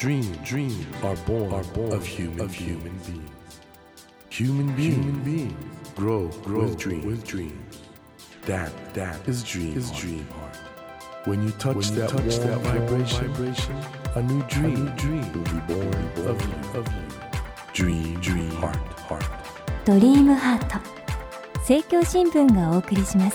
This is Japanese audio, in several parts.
Dreams are born of human beings. Human beings grow with dreams. That is dream heart. When you touch that vibration, a new dream will be born of you. Dream heart. ドリームハート、政教新聞がお送りします。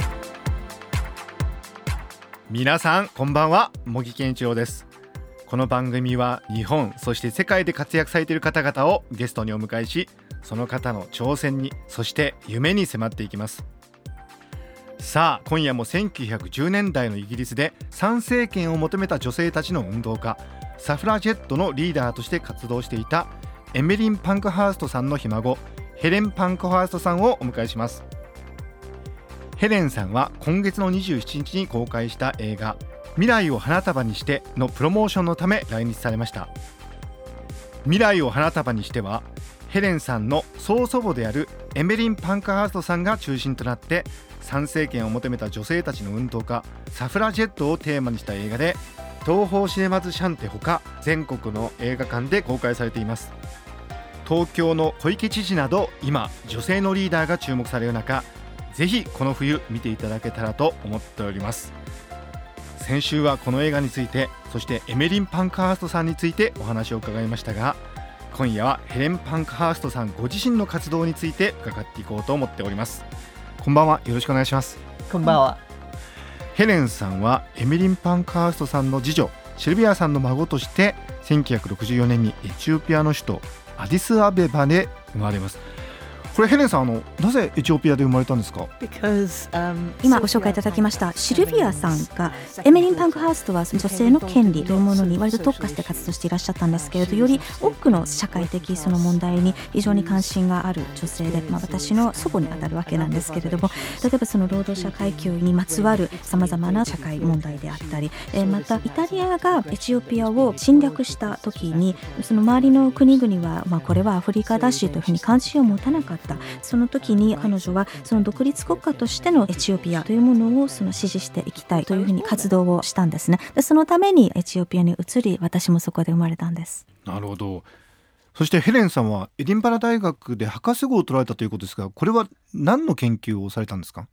皆さんこんばんは、茂木健一郎です。この番組は日本そして世界で活躍されている方々をゲストにお迎えし、その方の挑戦にそして夢に迫っていきます。さあ今夜も1910年代のイギリスで参政権を求めた女性たちの運動家、サフラジェットのリーダーとして活動していたエメリン・パンクハーストさんのひ孫、ヘレン・パンクハーストさんをお迎えします。ヘレンさんは今月の27日に公開した映画未来を花束にしてのプロモーションのため来日されました。未来を花束にしてはヘレンさんの曽祖母であるエメリン・パンクハーストさんが中心となって参政権を求めた女性たちの運動家サフラジェットをテーマにした映画で、東宝シネマズシャンテほか全国の映画館で公開されています。東京の小池知事など今女性のリーダーが注目される中、ぜひこの冬見ていただけたらと思っております。先週はこの映画について、そしてエメリン・パンクハーストさんについてお話を伺いましたが、今夜はヘレン・パンクハーストさんご自身の活動について伺っていこうと思っております。こんばんは、よろしくお願いします。 こんばんは。 ヘレンさんはエメリン・パンクハーストさんの次女シルビアさんの孫として1964年にエチオピアの首都アディスアベバで生まれます。これヘレンさん、なぜエチオピアで生まれたんですか？ 今ご紹介いただきましたシルビアさんが、エメリン・パンクハーストは女性の権利というものに割と特化して活動していらっしゃったんですけれど、より多くの社会的その問題に非常に関心がある女性で、私の祖母にあたるわけなんですけれども、例えばその労働者階級にまつわるさまざまな社会問題であったり、またイタリアがエチオピアを侵略した時に、その周りの国々は、これはアフリカだしというふうに関心を持たなかった。その時に彼女はその独立国家としてのエチオピアというものをその支持していきたいというふうに活動をしたんですね。でそのためにエチオピアに移り、私もそこで生まれたんです。 なるほど。そしてヘレンさんはエディンバラ大学で博士号を取られたということですが、これは何の研究をされたんですか？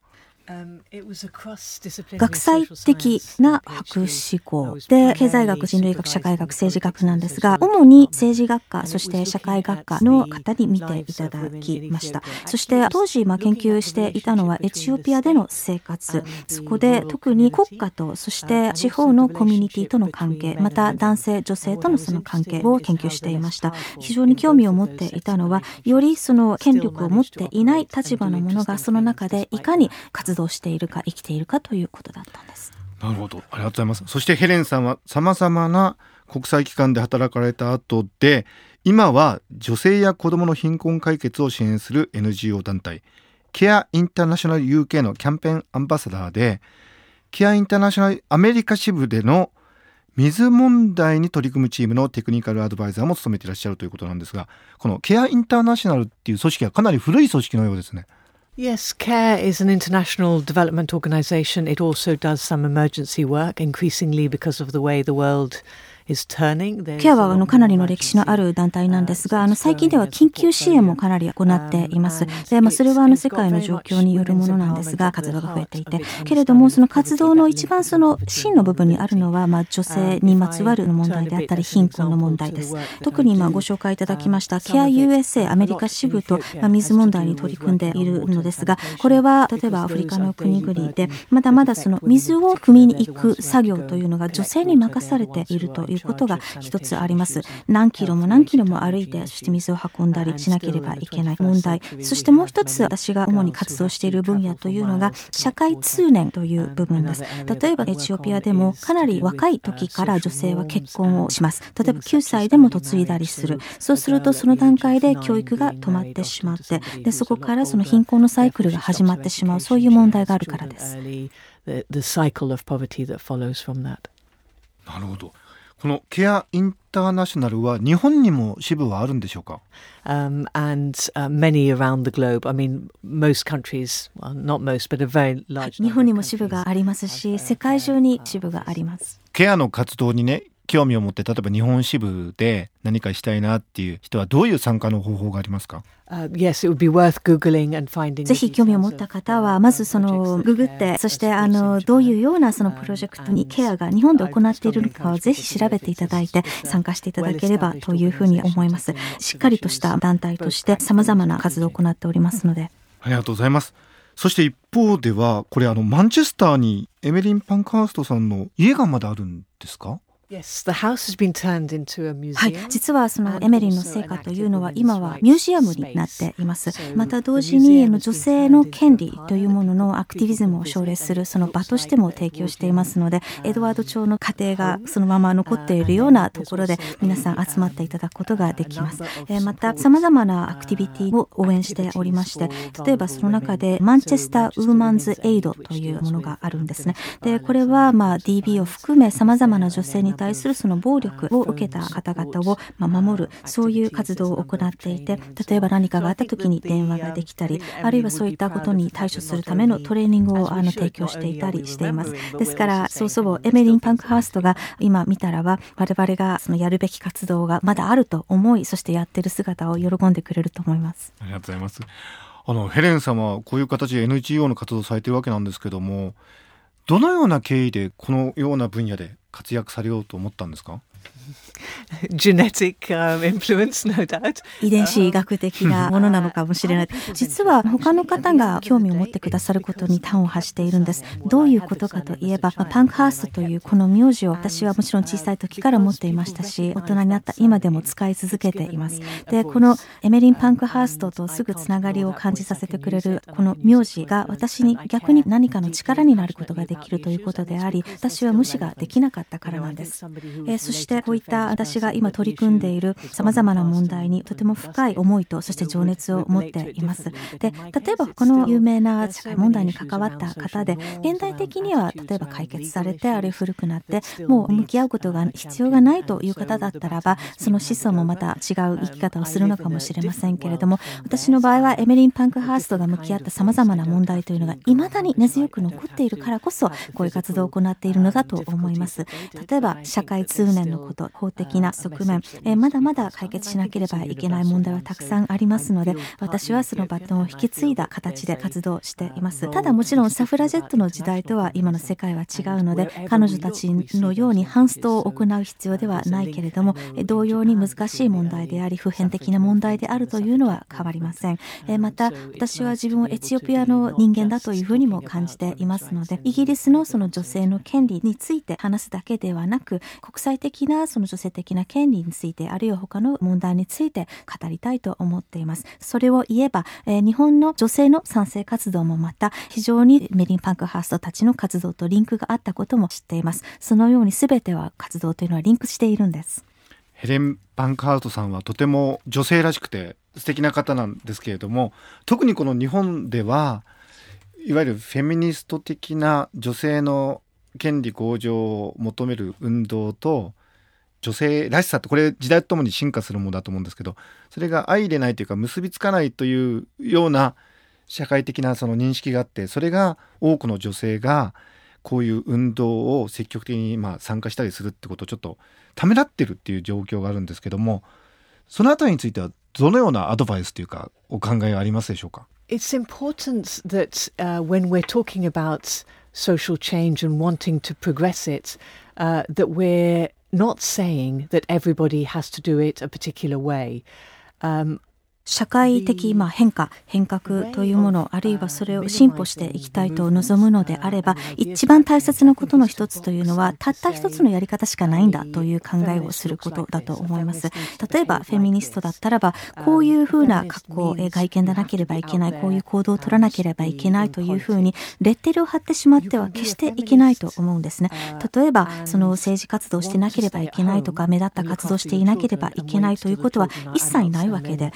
学際的な博士号で、経済学、人類学、社会学、政治学なんですが、主に政治学科そして社会学科の方に見ていただきました。そして当時研究していたのはエチオピアでの生活、そこで特に国家とそして地方のコミュニティとの関係、また男性女性とのその関係を研究していました。非常に興味を持っていたのは、よりその権力を持っていない立場の者がその中でいかに活動しているか生きているかということだったんです。 なるほど、ありがとうございます。そしてヘレンさんはさまざまな国際機関で働かれた後で、今は女性や子どもの貧困解決を支援する NGO 団体ケアインターナショナル UK のキャンペーンアンバサダーで、ケアインターナショナルアメリカ支部での水問題に取り組むチームのテクニカルアドバイザーも務めていらっしゃるということなんですが、このケアインターナショナルっていう組織はかなり古い組織のようですね。 Yes, CARE is an international development organization. It also does some emergency work, increasingly because of the way the worldケアはかなりの歴史のある団体なんですが、最近では緊急支援もかなり行っています。で、それは世界の状況によるものなんですが、活動が増えていて、けれどもその活動の一番その真の部分にあるのは、女性にまつわる問題であったり貧困の問題です。特にご紹介いただきましたケア USA アメリカ支部と水問題に取り組んでいるのですが、これは例えばアフリカの国々でまだまだその水を汲みに行く作業というのが女性に任されているということが一つあります。何キロも何キロも歩いて、そして水を運んだりしなければいけない問題。そしてもう一つ、私が主に活動している分野というのが社会通念という部分です。例えばエチオピアでもかなり若い時から女性は結婚をします。例えば9歳でも嫁いだりする。そうするとその段階で教育が止まってしまって、でそこからその貧困のサイクルが始まってしまう、そういう問題があるからです。 なるほど。このケアインターナショナルは日本にも支部はあるんでしょうか ？And many around the globe. I mean, most countries, well, not most, but a very large. 日本にも支部がありますし、世界中に支部があります。 ケアの活動にね、 興味を持って例えば日本支部で何かしたいなっていう人はどういう参加の方法がありますか？ Yes, it would be worth Googling and finding. ぜひ興味を持った方はまずそのググって、そしてどういうようなそのプロジェクトにケアが日本で行っているのかをぜひ調べていただいて参加していただければというふうに思います。しっかりとした団体として様々な活動を行っておりますので。 ありがとうございます。そして一方ではこれマンチェスターにエメリン・パンクハーストさんの家がまだあるんですか ？Yes, the house has been turned into a museum. はい、実はそのエメリンの成果というのは今はミュージアムになっています。また同時に女性の権利というもののアクティビズムを奨励するその場としても提供していますので、エドワード朝の家庭がそのまま残っているようなところで皆さん集まっていただくことができます。また様々なアクティビティを応援しておりまして、例えばその中でマンチェスターウーマンズエイドというものがあるんですね。で、これはDB を含め様々な女性に対するその暴力を受けた方々を守る、そういう活動を行っていて、例えば何かがあった時に電話ができたり、あるいはそういったことに対処するためのトレーニングを提供していたりしています。ですからそうそうエメリン・パンクハーストが今見たらば我々がそのやるべき活動がまだあると思い、そしてやってる姿を喜んでくれると思います。 ありがとうございます。ヘレンさんはこういう形で NGO の活動をされているわけなんですけども、どのような経緯でこのような分野で活躍されようと思ったんですか ？Genetic influence, no doubt. 遺伝子医学的なものなのかもしれない。実は他の方が興味を持ってくださることに端を発しているんです。どういうことかといえば、パンクハーストというこの名字を私はもちろん小さい時から持っていましたし、大人になった今でも使い続けています。で、このエメリン・パンクハーストとすぐつながりを感じさせてくれるこの名字が私に逆に何かの力になることができるということであり、私は無視ができなかったからなんです。そしてこういった私が今取り組んでいる様々な問題にとても深い思いとそして情熱を持っています。で、例えば他の有名な社会問題に関わった方で、現代的には例えば解決されて、あるいは古くなってもう向き合うことが必要がないという方だったらば、その思想もまた違う生き方をするのかもしれませんけれども、私の場合はエメリン・パンクハーストが向き合った様々な問題というのが未だに根強く残っているからこそ、こういう活動を行っているのだと思います。例えば社会通念のこと、法的な側面、まだまだ解決しなければいけない問題はたくさんありますので、私はそのバトンを引き継いだ形で活動しています。ただもちろんサフラジェットの時代とは今の世界は違うので、彼女たちのようにハンストを行う必要ではないけれども、同様に難しい問題であり普遍的な問題であるというのは変わりません。また私は自分をエチオピアの人間だというふうにも感じていますので、イギリスのその女性の権利について話すだけではなく、国際的なその女性的な権利について、あるいは他の問題について語りたいと思っています。それを言えば、日本の女性の賛成活動もまた非常にメリン・パンクハーストたちの活動とリンクがあったことも知っています。そのように全ては活動というのはリンクしているんです。 ヘレン・パンクハーストさんはとても女性らしくて素敵な方なんですけれども、特にこの日本ではいわゆるフェミニスト的な女性の権利向上を求める運動と女性らしさって、これ時代とともに進化するものだと思うんですけど、それが相入れないというか結びつかないというような社会的なその認識があって、それが多くの女性がこういう運動を積極的に参加したりするってことをちょっとためらってるっていう状況があるんですけども、そのあたりについてはどのようなアドバイスというかお考えはありますでしょうか？ It's important that when we're talking about social change and wanting to progress it, that we're not saying that everybody has to do it a particular way. 社会的変革というもの、あるいはそれを進歩していきたいと望むのであれば、一番大切なことの一つというのは、たった一つのやり方しかないんだという考えをすることだと思います。例えばフェミニストだったらば、こういうふうな格好、外見でなければいけない、こういう行動を取らなければいけないというふうにレッテルを貼ってしまっては決していけないと思うんですね。例えばその政治活動してなければいけないとか、目立った活動していなければいけないということは一切ないわけで、例え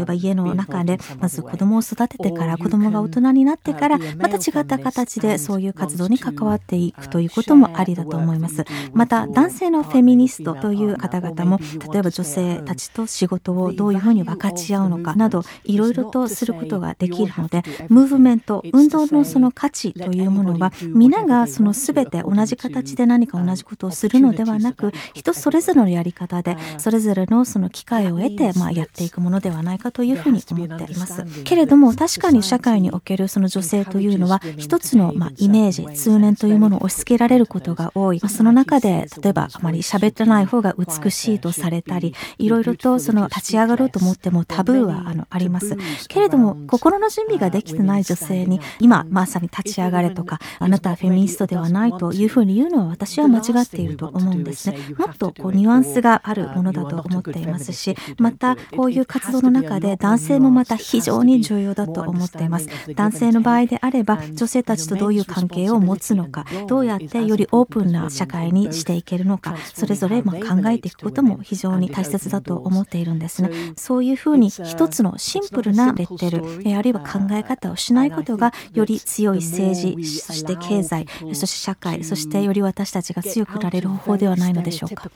ば家の中でまず子供を育ててから子供が大人になってからまた違った形でそういう活動に関わっていくということもありだと思います。また男性のフェミニストという方々も例えば女性たちと仕事をどういうふうに分かち合うのかなどいろいろとすることができるので、ムーブメント運動のその価値というものは皆がその全て同じ形で何か同じことをするのではなく、人それぞれのやり方でそれぞれのその機会を得てやっていくものではないかというふうに思っています。けれども確かに社会におけるその女性というのは一つのイメージ通念というものを押し付けられることが多い。その中で例えばあまり喋ってない方が美しいとされたり、いろいろとその立ち上がろうと思ってもタブーはあります。けれども心の準備ができてない女性に今まさに立ち上がれとかあなたはフェミニストではないというふうに言うのは私は間違っていると思うんですね。もっとニュアンスがあるものだと思っていますし、またこういう活動の中で男性もまた非常に重要だと思っています。男性の場合であれば女性たちとどういう関係を持つのか、どうやってよりオープンな社会にしていけるのか、それぞれ考えていくことも非常に大切だと思っているんですね。そういうふうに一つのシンプルなレッテルあるいは考え方をしないことがより強い政治、そして経済、そして社会、そしてより私たちが強くなれる方法ではないのでしょうか。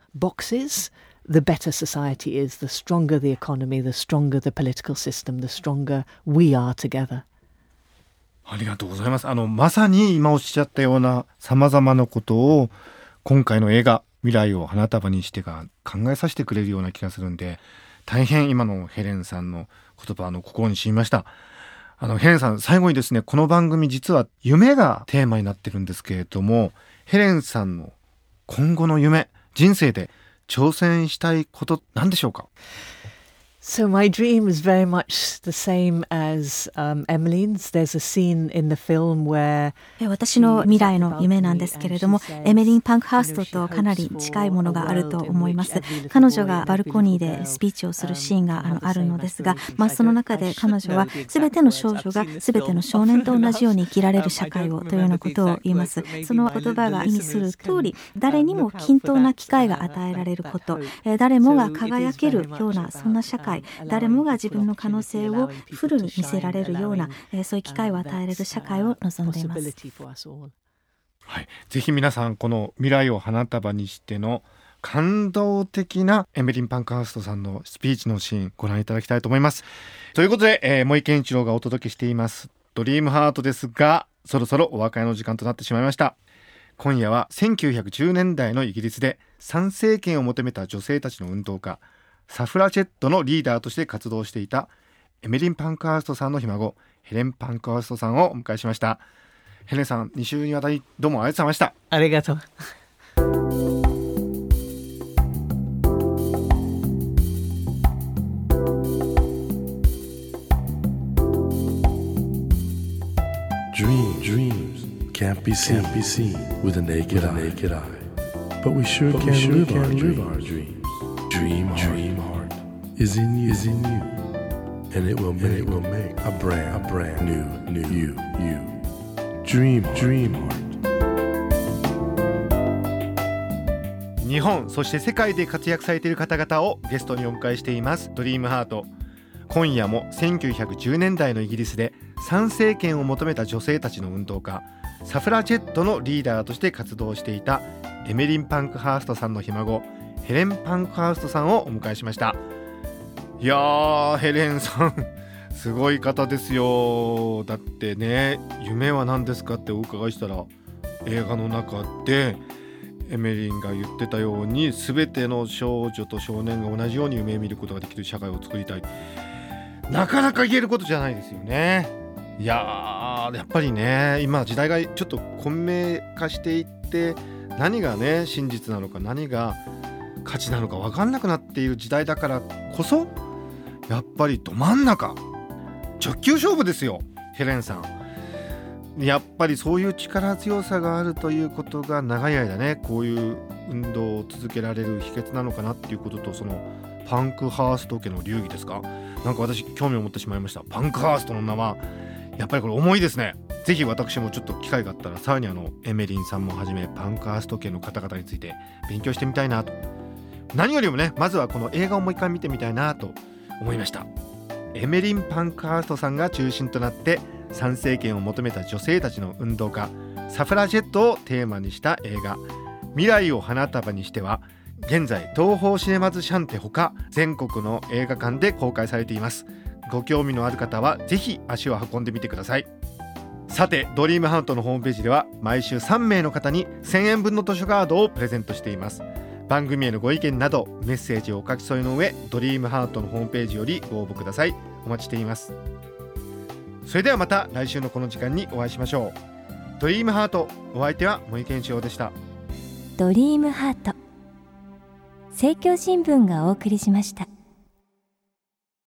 The better society is, the stronger the economy, the stronger the political system, the stronger we are together. ありがとうございます。まさに今おっしゃったような様々なことを今回の映画未来を花束にしてが考えさせてくれるような気がするんで、大変今のヘレンさんの言葉心に染みました。ヘレンさん、最後にですね、この番組実は夢がテーマになってるんですけれども、ヘレンさんの今後の夢、人生で挑戦したいこと何でしょうか？ So my dream is very much the same as Emmeline's. There's a scene in the film where 私の未来の夢なんですけれども、エメリン・パンクハーストとかなり近いものがあると思います。彼女がバルコニーでスピーチをするシーンがあるのですが、その中で彼女は全ての少女が全ての少年と同じように生きられる社会をというようなことを言います。その言葉が意味する通り、誰にも均等な機会が与えられること、誰もが輝けるようなそんな社会、誰もが自分の可能性をフルに見せられるような、そういう機会を与えられる社会を望んでいます。 はい、ぜひ皆さんこの未来を花束にしての感動的なエメリン・パンクハーストさんのスピーチのシーンご覧いただきたいと思います。ということで、森健一郎がお届けしていますドリームハートですが、そろそろお別れの時間となってしまいました。今夜は1910年代のイギリスで参政権を求めた女性たちの運動家サフラチェットのリーダーとして活動していたエメリン・パンクハーストさんのひ孫ヘレン・パンクハーストさんをお迎えしました。ヘレンさん、2週にわたりどうもありがとうございました。 ありがとう。 Dreams can't be seen with a naked eye. But we sure can live our dreams. Dream heart is in you, and it will make a brand new you. Dream heart. 日本そして世界で活躍されている方々をゲストにお迎えしていますドリームハート。今夜も1910年代のイギリスで参政権を求めた女性たちの運動家サフラチェットのリーダーとして活動していたエメリン・パンクハーストさんのひ孫ヘレン・パンクハーストさんをお迎えしました。いやー、ヘレンさんすごい方ですよ。だってね、夢は何ですかってお伺いしたら、映画の中でエメリンが言ってたように全ての少女と少年が同じように夢を見ることができる社会を作りたい。なかなか言えることじゃないですよね。いやー、やっぱりね、今時代がちょっと混迷化していって、何がね真実なのか何が価値なのか分かんなくなっている時代だからこそ、やっぱりど真ん中直球勝負ですよ。ヘレンさん、やっぱりそういう力強さがあるということが長い間ね、こういう運動を続けられる秘訣なのかなっていうことと、そのパンクハースト家の流儀ですか。なんか私興味を持ってしまいました。パンクハーストの名はやっぱりこれ重いですね。ぜひ私もちょっと機会があったらさらにエメリンさんもはじめパンクハースト家の方々について勉強してみたいなと。何よりもね、まずはこの映画をもう一回見てみたいなと思いました。 エメリン・パンクハーストさんが中心となって参政権を求めた女性たちの運動家サフラジェットをテーマにした映画未来を花束にしては現在東宝シネマズシャンテほか全国の映画館で公開されています。ご興味のある方はぜひ足を運んでみてください。さてドリームハートのホームページでは毎週3名の方に1000円分の図書カードをプレゼントしています。番組へのご意見などメッセージをお書き添えの上ドリームハートのホームページよりご応募ください。お待ちしています。それではまた来週のこの時間にお会いしましょう。ドリームハート、お相手は森健一郎でした。 ドリームハート、政教新聞がお送りしました。